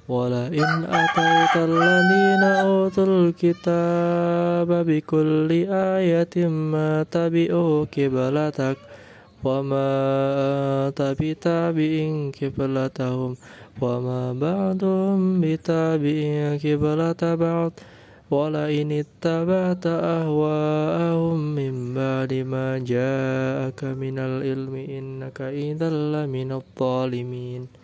ولئن أتيت الذين أوتوا الكتاب بكل آية ما تبعوا قبلتك وما أنت بتابع قبلتهم وما بعضهم بتابع قبلة بعض ولئن اتبعت أهواءهم من بعد ما جاءك من العلم إنك إذا لمن الظالمين